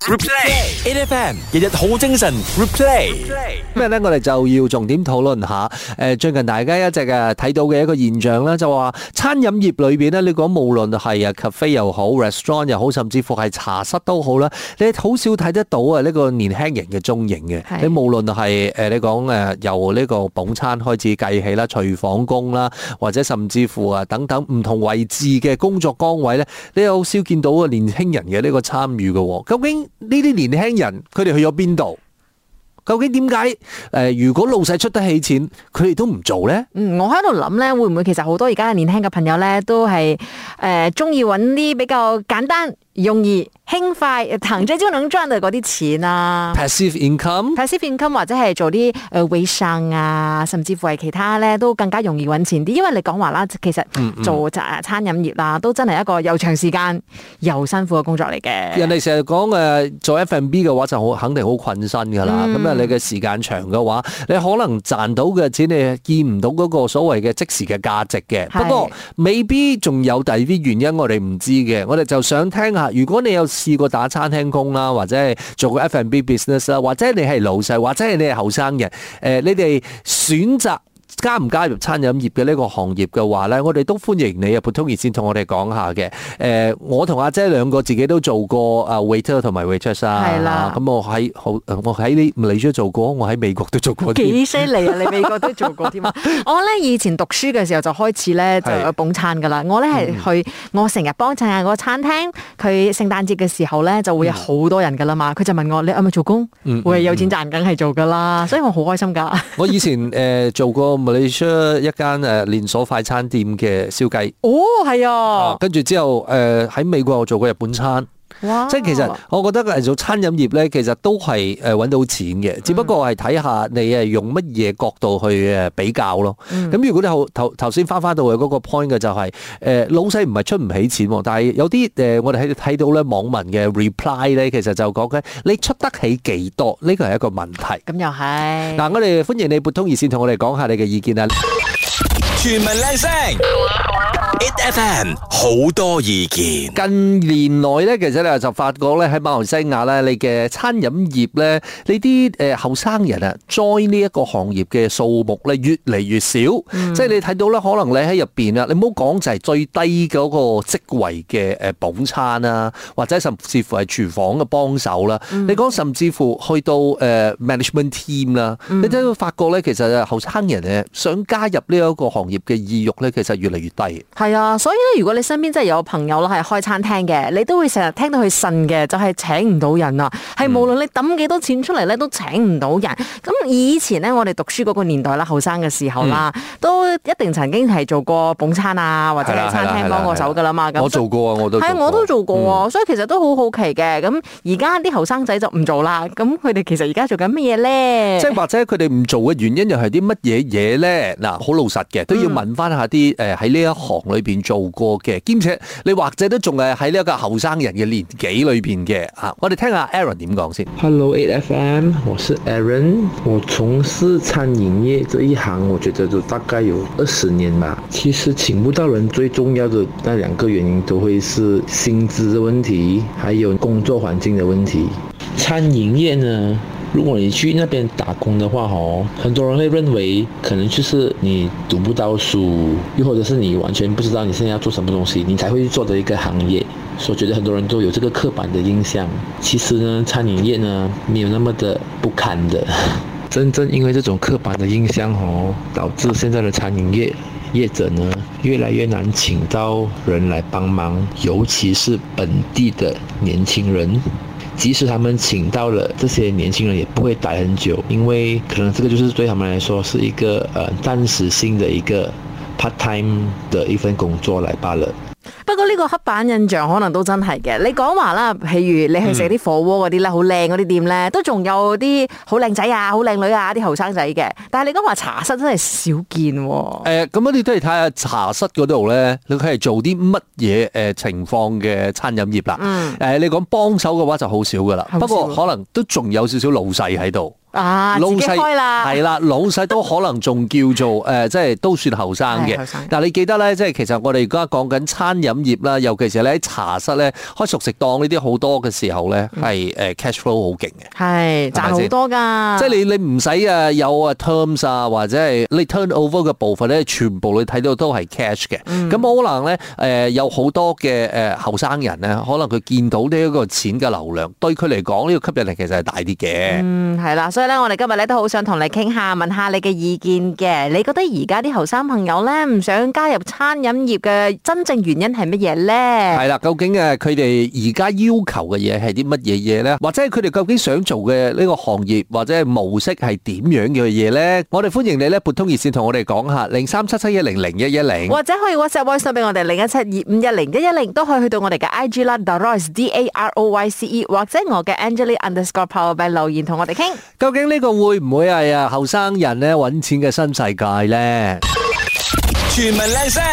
Replay，8FM 日日好精神。Replay， 今日咧我哋就要重點討論下，最近大家一直睇到嘅一個現象咧，就話餐飲業裏邊咧，你講無論係cafe 又好 ，restaurant 又好，甚至乎係茶室都好啦，你好少睇得到呢個年輕人嘅蹤影嘅。你無論係你講由呢個捧餐開始計起啦，廚房工啦，或者甚至乎等等唔同位置嘅工作崗位咧，你好少見到年輕人嘅呢個參與嘅。究竟呢啲年輕人佢哋去咗邊度？究竟點解如果老細出得起錢，佢哋都唔做咧？ 我喺度諗咧，會唔會其實好多而家嘅年輕嘅朋友咧，都係中意揾啲比較簡單、容易、輕快、躺着就能賺嘅嗰啲錢啊 ？Passive income 或者係做啲微商啊，甚至乎係其他咧，都更加容易揾錢啲。因為你講話啦，其實做餐飲業啦，都真係一個又長時間又辛苦嘅工作嚟嘅。 人哋成日講做 F&B 嘅話就肯定好困身噶啦。咁你嘅時間長嘅話，你可能賺到嘅錢你見唔到嗰個所謂嘅即時嘅價值嘅。不過未必仲有第二啲原因我哋唔知嘅。我哋就想聽下，如果你有試過打餐廳工啦，或者係做過 F&B business 啦，或者你係老細，或者係你係後生人，你哋選擇加唔加入餐飲業嘅呢個行業嘅話咧，我哋都歡迎你啊！撥通熱線同我哋講下嘅。我同阿姐兩個自己都做過waiter 同埋 waitress 啊。 係啦。咁我喺馬來西亞做過，我喺美國都做過。 幾犀利啊！你美國都做過添啊！我咧以前讀書嘅時候就開始咧就有捧餐噶啦。我咧係去我成日幫襯下個餐廳，佢聖誕節嘅時候咧就會有好多人噶啦嘛。佢就問我：你係咪做工？會有錢賺，梗係做噶啦。所以我好開心噶。 我以前做過馬來西亞一間連鎖快餐店嘅燒雞。 哦，係啊。跟住之後喺美國我做過日本餐。 哇！ 即係其實我覺得做餐飲業咧，其實都係揾到錢嘅，只不過係睇下你係用乜嘢角度去比較咯。咁如果你頭先翻到去嗰個 point 嘅就係老細唔係出唔起錢，但係有啲我哋睇到咧網民嘅 reply 咧，其實就講緊你出得起幾多，呢個係一個問題。 咁又係。嗱， 我哋歡迎你撥通熱線同我哋講下你嘅意見啊！ 全民靚聲，8FM 好多意見。 近年來咧，其實你就發覺咧喺馬來西亞咧，你嘅餐飲業咧，你啲後生人啊，join 呢一個行業嘅數目咧越嚟越少。即係你睇到咧，可能你喺入邊啊，你唔好講就係最低嗰個職位嘅捧餐啊，或者甚至乎係廚房嘅幫手啦。你講甚至乎去到management team 啦，你都會發覺咧，其實後生人咧想加入呢一個行業嘅意欲咧，其實越嚟越低。 係啊，所以咧，如果你身邊真係有朋友啦，係開餐廳嘅，你都會成日聽到佢呻嘅，就係請唔到人啊。係無論你抌幾多錢出嚟咧，都請唔到人。咁以前咧，我哋讀書嗰個年代啦，後生嘅時候啦，都一定曾經係做過捧餐啊，或者係餐廳幫過手噶啦嘛。 我做過啊，我都做過啊，所以其實都好好奇嘅。咁而家啲後生仔就唔做啦。咁佢哋其實而家做緊乜嘢咧？ 即係或者佢哋唔做嘅原因又係啲乜嘢嘢咧？嗱，好老實嘅，都要問翻下啲喺呢一行裏邊做過嘅，兼且你或者都仲係喺呢一個後生人嘅年紀裏邊嘅啊！我哋聽下 Aaron 點講先。 Hello 8FM， 我是 Aaron， 我從事餐飲業這一行，我覺得就大概有20年吧。其實請不到人，最重要的那2個原因都會是薪資的問題，還有工作環境的問題。餐飲業呢，如果你去那邊打工的話，很多人會認為可能就是你讀不到書，又或者是你完全不知道你現在要做什麼東西，你才會去做的一個行業。所以我覺得很多人都有這個刻板的印象。其實呢，餐飲業呢，沒有那麼的不堪的。真正因為這種刻板的印象，導致現在的餐飲業者呢，越來越難請到人來幫忙，尤其是本地的年輕人。即使他們請到了這些年輕人，也不會待很久，因為可能這個就是對他們來說是一個暫時性的一個 part time 的一份工作來罷了。 不過呢個刻板印象可能都真係嘅。你講話啦，譬如你去食啲火鍋嗰啲咧，好靚嗰啲店咧，都仲有啲好靚仔啊、好靚女啊啲後生仔嘅。但係你講話茶室真係少見喎。 咁你都係睇下茶室嗰度咧，佢係做啲乜嘢情況嘅餐飲業啦。你講幫手嘅話就好少噶啦，不過可能都仲有少少老細喺度。 啊，自己開啦， 係啦，老細都可能仲叫做即係都算後生嘅。但係你記得咧，即係其實我哋而家講緊餐飲業啦，尤其是咧喺茶室咧開熟食檔呢啲好多嘅時候咧，係cash flow 好勁嘅，係賺好多㗎。 即係你唔使有terms 啊，或者係你 turnover 嘅部分咧，全部你睇到都係 cash 嘅。咁可能咧有好多嘅後生人咧，可能佢見到呢一個錢嘅流量，對佢嚟講呢個吸引力其實係大啲嘅。 係啦，所以咧我哋今日咧都好想同你傾下，問下你嘅意見嘅。你覺得而家啲後生朋友咧唔想加入餐飲業嘅真正原因係乜嘢咧？ 係啦，究竟佢哋而家要求嘅嘢係啲乜嘢嘢咧？或者係佢哋究竟想做嘅呢個行業或者係模式係點樣嘅嘢咧？我哋歡迎你咧撥通熱線同我哋講下0377100110， 或者可以 WhatsApp voice 俾我哋0172510110，都可以去到我哋嘅 IG 啦 ，Daroyce DAROYCE， 或者我嘅 Angelie_Powerbank 留言同我哋傾。 究竟呢個會唔會係後生人咧揾錢嘅新世界咧？ 全民靚聲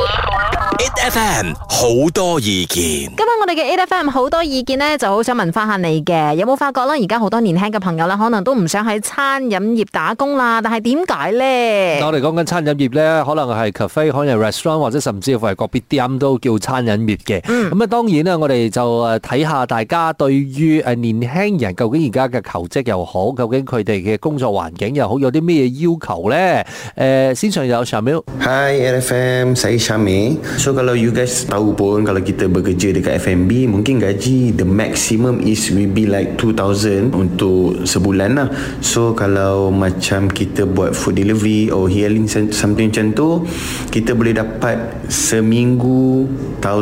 ，8FM 好多意見。 今日我哋嘅 8FM 好多意見咧，就好想問翻下你嘅，有冇發覺啦？而家好多年輕嘅朋友啦，可能都唔想喺餐飲業打工啦，但係點解咧？ 我哋講緊餐飲業咧，可能係 cafe， 可能係 restaurant， 或者甚至乎係個別店都叫餐飲業嘅。咁當然啦，我哋就睇下大家對於年輕人究竟而家嘅求職又好，究竟佢哋嘅工作環境又好，有啲咩要求咧？先上有 Syamil。 Hi RFM, saya Syamil. So kalau you guys tahu pun, kalau kita bekerja dekat F&B, mungkin gaji the maximum is will be like 2,000 untuk sebulan lah. So kalau macam kita buat food delivery or healing something macam tu, kita boleh dapat seminggu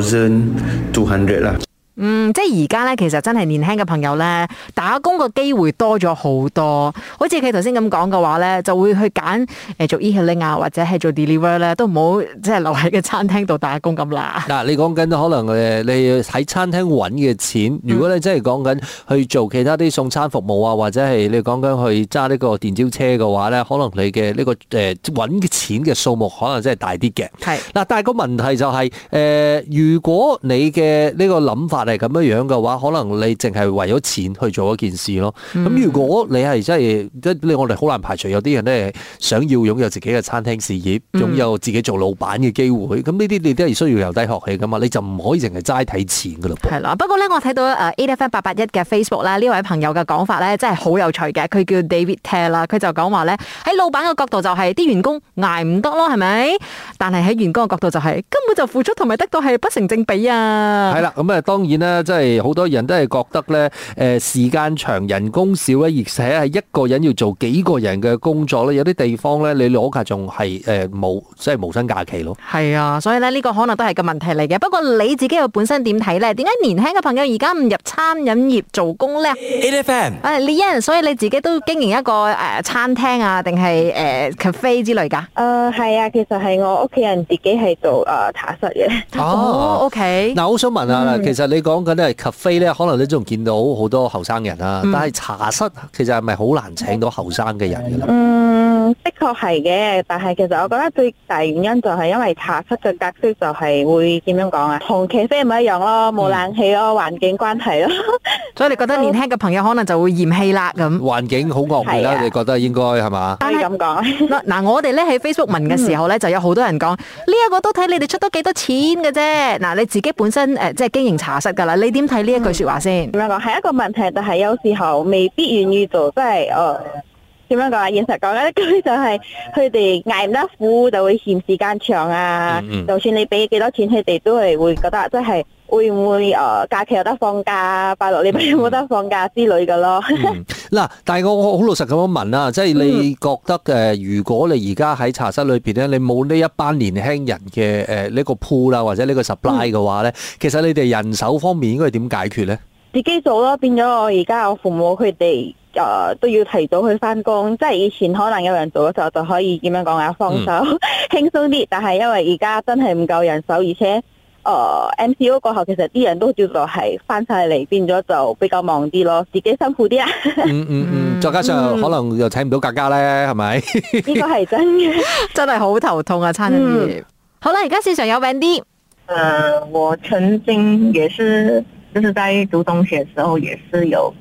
1,200 lah. 即係而家咧，其實真係年輕嘅朋友咧，打工個機會多咗好多。好似佢頭先咁講嘅話咧，就會去揀做 e-hailing 啊，或者係做 deliver 咧，都唔好即係留喺個餐廳度打工咁啦。 嗱，你講緊可能你喺餐廳揾嘅錢，如果你真係講緊去做其他啲送餐服務啊，或者係你講緊去揸呢個電召車嘅話咧，可能你嘅呢個揾嘅錢嘅數目可能真係大啲嘅。係嗱，但係個問題就係如果你嘅呢個諗法係咁樣嘅話，可能你淨係為咗錢去做一件事咯。咁如果你係真係，我哋好難排除有啲人咧想要擁有自己嘅餐廳事業，擁有自己做老闆嘅機會。咁呢啲你都係需要由低學起噶嘛，你就唔可以淨係齋睇錢噶啦。係啦， 不過咧我睇到8FM881嘅 Facebook 啦，呢位朋友嘅講法咧真係好有趣嘅。佢叫 David Taylor 啦，佢就講話咧喺老闆嘅角度就係啲員工捱唔得咯，係咪？但係喺員工嘅角度就係根本就付出同埋得到係不成正比啊。係啦， 咁當然啦，即係好多人都係覺得咧，時間長人工少咧，而且係一個人要做幾個人嘅工作咧，有啲地方咧你攞假仲係冇，即係無薪假期咯。係啊，所以咧呢個可能都係個問題嚟嘅。不過你自己又本身點睇咧？點解年輕嘅朋友而家唔入餐飲業做工咧 ？8FM， 李欣，所以你自己都經營一個餐廳啊，定係cafe 之類㗎？ 係啊，其實係我屋企人自己係做茶室嘅。 哦 ，OK。 嗱，我想問下啦，其實你講緊咧 cafe 咧，可能你仲見到好多後生人啦，但係茶室其實係咪好難請到後生嘅人嘅咧？ 的確係嘅，但係其實我覺得最大原因就係因為茶室嘅格式就係會點樣講啊？同咖啡唔一樣咯，冇冷氣咯，環境關係咯。 所以你覺得年輕嘅朋友可能就會嫌棄啦咁。 環境好惡劣啦，你覺得應該係嘛？ 可以咁講。 嗱，我哋咧喺 Facebook 問嘅時候咧，就有好多人講呢一個都睇你哋出得幾多錢嘅啫。嗱，你自己本身即係經營茶室㗎啦，你點睇呢一句説話先？ 點樣講係一個問題，但係有時候未必願意做，即係點樣講啊？現實講一句就係佢哋捱唔得苦，就會嫌時間長啊。就算你俾幾多錢，佢哋都係會覺得即係會唔會假期有得放假，拜六禮拜有冇得放假之類嘅咯。 嗱，但係我好老實咁樣問啦，即係你覺得如果你而家喺茶室裏邊咧，你冇呢一班年輕人嘅呢個 pool 啦，或者呢個 supply 嘅話咧，其實你哋人手方面應該點解決咧？ 自己做咯，變咗我而家我父母佢哋都要提早去翻工，即係以前可能有人做嘅時候就可以點樣講啊，放手輕鬆啲，但係因為而家真係唔夠人手，而且MCO 過後其實啲人都叫做係翻晒嚟，變咗就比較忙啲咯，自己辛苦啲啊。 再加上可能又請唔到格價咧，係咪？ 呢個係真嘅， 真係好頭痛啊！餐飲業。好啦，而家市場有Wendy。 我曾經也是，就是在讀中學的時候也是有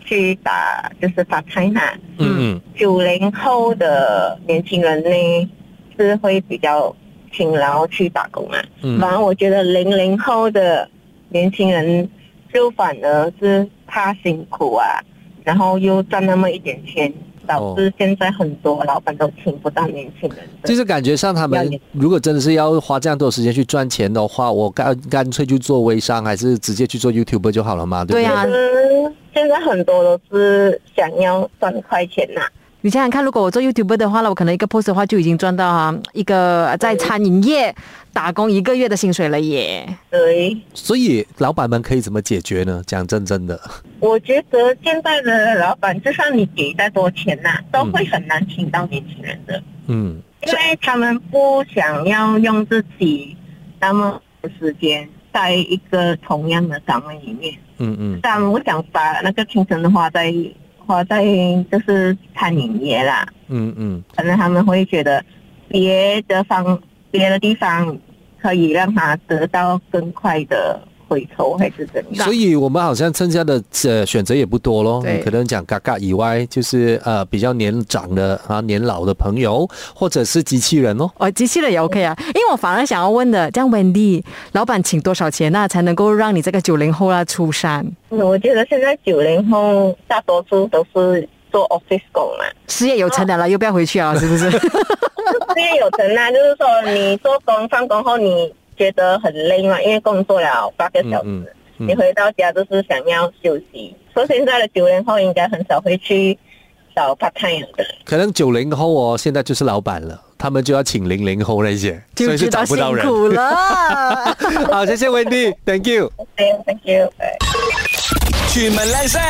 去打就是 part time 啊。 嗯 90后的年轻人呢是会比较勤劳去打工啊。反而我觉得00后的年轻人就反而是怕辛苦啊，然后又赚那么一点钱。导致现在很多老板都请不到年轻人， 就是感觉上他们如果真的是要花这样多时间去赚钱的话，我干脆去做微商，还是直接去做 YouTuber 就好了嘛，对不对？ 对啊， 现在很多都是想要赚快钱呐。 你想想看，如果我做 YouTuber 的话呢，我可能一个 post 的话就已经赚到一个在餐饮业打工1个月的薪水了耶。 对， 所以老板们可以怎么解决呢？讲真的， 我觉得现在的老板，就算你给再多钱都会很难请到年轻人的。因为他们不想要用自己那么多时间在一个同样的岗位里面。他们不想把那个青春花在就是餐饮业啦。可能他们会觉得别的地方可以让他得到更快的回头，还是怎样？ 所以我们好像剩下的选择也不多咯。可能讲嘎嘎以外，就是比较年长的年老的朋友，或者是机器人咯。 机器人也 OK 啊，因为我反而想要问的，这样 Wendy 老板请多少钱才能够让你这个90后出山？ 我觉得现在90后大多数都是做 office 工嘛， 事业有成的了，又不要回去啊，是不是？ 事业有成啊，就是说你做工放工后你觉得很累嘛，因为工作了8个小时，你回到家就是想要休息。所以现在的90后应该很少会去找 part time 的。可能 90后现在就是老板了，他们就要请00后那些，所以是找不到人。 辛苦了。 好，谢谢 Wendy，Thank you。Thank you。 全民靚聲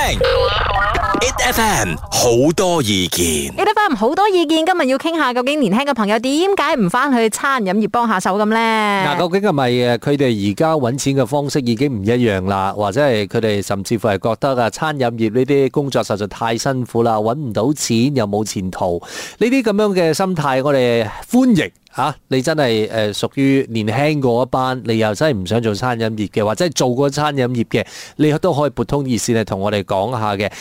，8FM 好多意見 ，8FM 好多意見。今日要傾下，究竟年輕嘅朋友點解唔翻去餐飲業幫下手咁呢？ 究竟係咪佢哋而家揾錢嘅方式已經唔一樣啦，或者係佢哋甚至乎係覺得餐飲業呢啲工作實在太辛苦啦，揾唔到錢又冇前途，呢啲咁樣嘅心態，我哋歡迎。你真係屬於年輕嗰一班，你又真係唔想做餐飲業嘅，或者係做過餐飲業嘅，你都可以撥通熱線嚟同我哋講下嘅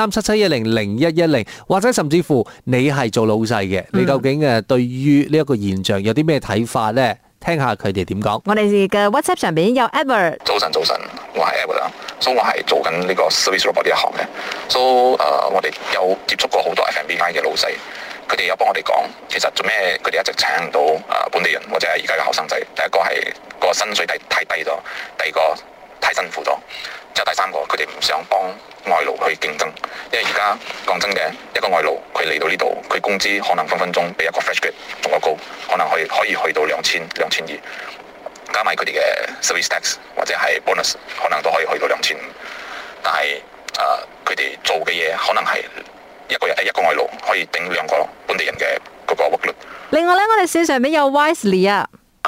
0377100110，或者甚至乎你係做老細嘅，你究竟對於呢一個現象有啲咩睇法呢？聽下佢哋點講。 我哋嘅 WhatsApp 上邊有 Edward。 早晨，我係 Edward 啦，所以我係做緊呢個 service robot 呢一行嘅，所以我哋有接觸過好多 F&B 嘅老細。佢哋有幫我哋講，其實做咩佢哋一直請唔到本地人或者係而家嘅後生仔？第一個係個薪水太低咗，第二個太辛苦咗，之後第三個佢哋唔想幫外勞去競爭，因為而家講真嘅，一個外勞佢嚟到呢度，佢工資可能分鐘比一個 fresh grad 仲要高，可能可以去到2000-2200，加埋佢哋嘅 service tax 或者係 bonus， 可能都可以去到2500，但係佢哋做嘅嘢可能係一個外勞可以頂2個本地人嘅嗰個 workload。 另外咧，我哋線上面有 Wisely 啊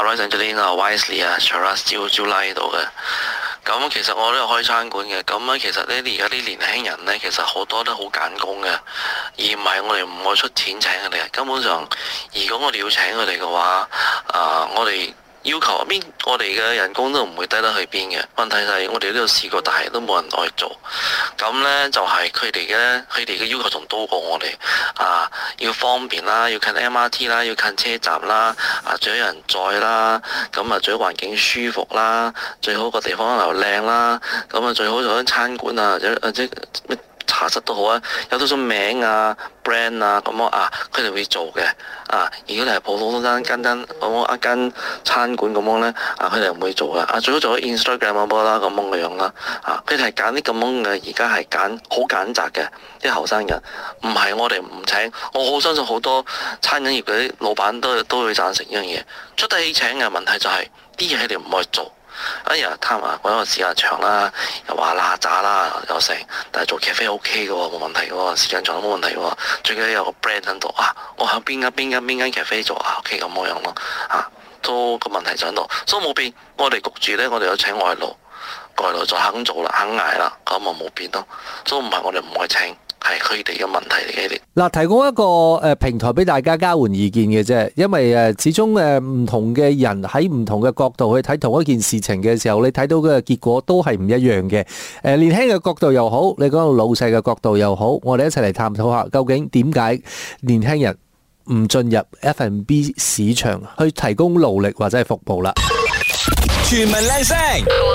，Wisely 啊 ，Charas 招拉到嘅。咁其實我都有開餐館嘅。咁其實咧，而家啲年輕人咧，其實好多都好揀工嘅，而唔係我哋唔愛出錢請佢哋。根本上，如果我哋要請佢哋嘅話，我哋要求邊，我哋嘅人工都唔會低得去邊嘅。問題係我哋都有試過，但係都冇人愛做。咁呢就係佢哋嘅要求仲多過我哋。要方便啦，要近 MRT 啦，要近車站啦，最好有人載啦，咁最好環境舒服啦，最好個地方又靚啦，咁最好做間餐館或者茶室都好啊，有到種名brand 咁佢哋會做嘅。如果你係普通間一間餐館咁樣咧，佢哋唔會做嘅。最好做啲 Instagram 啦，咁樣嘅樣啦。佢哋係揀啲咁樣嘅，而家係揀好揀擇嘅啲後生人，唔係我哋唔請。我好相信好多餐飲業嗰啲老闆都會贊成呢樣嘢。出得起請嘅問題就係啲嘢佢哋唔愛做。貪講個時間長啦，又話邋遢啦，又成，但係做咖啡 OK 嘅喎，冇問題嘅喎，時間長都冇問題嘅喎，最緊要有個 brand 喺度我喺邊間咖啡做OK 咁樣咯，都個問題就喺度，所以冇變，我哋焗住咧，我哋有請外勞就肯做啦，肯捱啦，咁冇變咯，所以唔係我哋唔愛請， 係佢哋嘅問題嚟嘅。 嗱，提供一個平台俾大家交換意見嘅啫，因為始終唔同嘅人喺唔同嘅角度去睇同一件事情嘅時候，你睇到嘅結果都係唔一樣嘅。年輕嘅角度又好，你講到老細嘅角度又好，我哋一齊嚟探討下究竟點解年輕人唔進入 F&B 市場去提供勞力或者係服務啦。 全民靚聲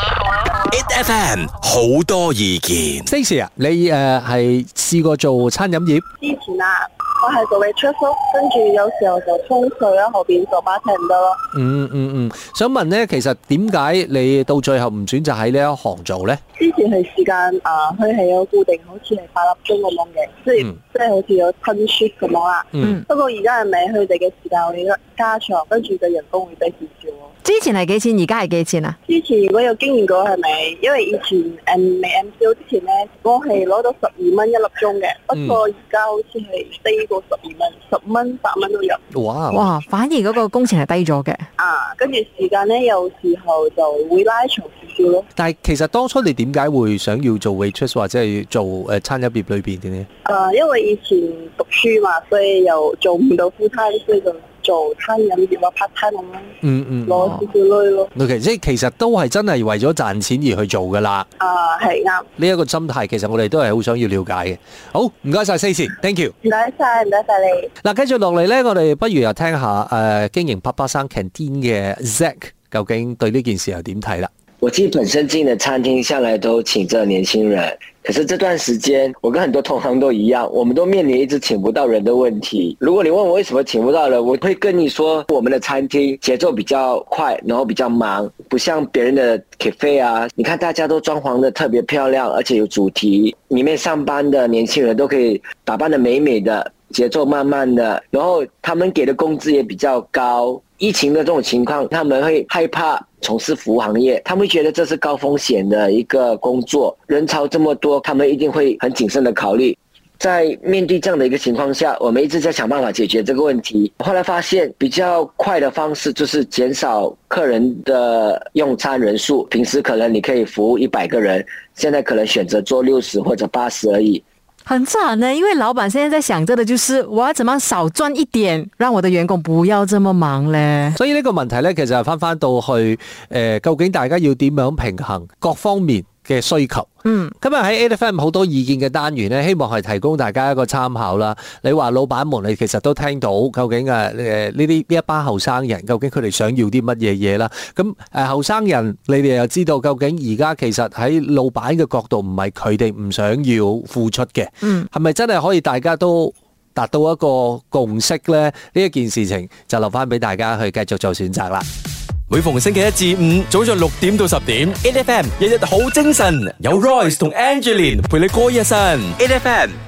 ，8FM 好多意見。 Stacey 啊，你係試過做餐飲業？ 之前啊，我係做 waitress，跟住有時候就沖水啦，後邊做 bartender咯。 想問咧，其實點解你到最後唔選擇喺呢一行做咧？ 之前係時間佢係有固定，好似係8粒鐘咁樣嘅，即係好似有吞 shift 咁樣啦。不過而家係咪佢哋嘅時間會加長，跟住嘅人工會低少少咯。 之前係幾錢？而家係幾錢啊？ 之前如果有經驗過係咪？因為以前未 MCO 之前咧，我係攞到12蚊一粒鐘嘅，不過而家好似係低過12蚊，10蚊、8蚊都有。 哇！反而嗰個工錢係低咗嘅。 跟住時間咧，有時候就會拉長少少咯。 但係其實當初你點解會想要做 waitress 或者係做餐飲業裏邊嘅呢？ 因為以前讀書嘛，所以又做唔到 full time，所以就做餐飲業或 part time 咁樣，攞少少鐳咯。 即係其實都係真係為咗賺錢而去做噶啦。 係啱。呢一個心態其實我哋都係好想要了解嘅。好，唔該晒 Stacey，thank you。 唔該晒你。 嗱，繼續落嚟咧，我哋不如又聽下經營爸爸生 canteen 嘅 Zack 究竟對呢件事又點睇啦？ 我自己本身進的餐廳向來都請着年輕人，可是這段時間我跟很多同行都一樣，我們都面臨一直請不到人的問題。如果你問我為什麼請不到人，我會跟你說我們的餐廳節奏比較快，然後比較忙，不像別人的 cafe 啊，你看大家都裝潢得特別漂亮，而且有主題，裡面上班的年輕人都可以打扮得美美的，節奏慢慢的，然後他們給的工資也比較高。疫情的這種情況，他們會害怕從事服務行業，他們會覺得這是高風險的一個工作，人潮這麼多，他們一定會很謹慎的考慮。在面對這樣的一個情況下，我們一直在想辦法解決這個問題。後來發現比較快的方式就是減少客人的用餐人數，平時可能你可以服務100個人，現在可能選擇做60或者80而已。 很慘呢，因為老闆現在在想着的就是我要怎麼少賺一點，讓我的員工不要這麼忙咧。 所以呢個問題咧，其實係翻到去究竟大家要點樣平衡各方面嘅需求。今日喺 8FM 好多意見嘅單元咧，希望係提供大家一個參考啦。你話老闆們，你其實都聽到究竟呢一班後生人究竟佢哋想要啲乜嘢嘢啦？咁後生人，你哋又知道究竟而家其實喺老闆嘅角度唔係佢哋唔想要付出嘅，係咪真係可以大家都達到一個共識咧？呢一件事情就留翻俾大家去繼續做選擇啦。 每逢星期一至五早上6點到10點 ，8FM 日日好精神，有 Royce 同 Angeline 陪你過一晨 ，8FM。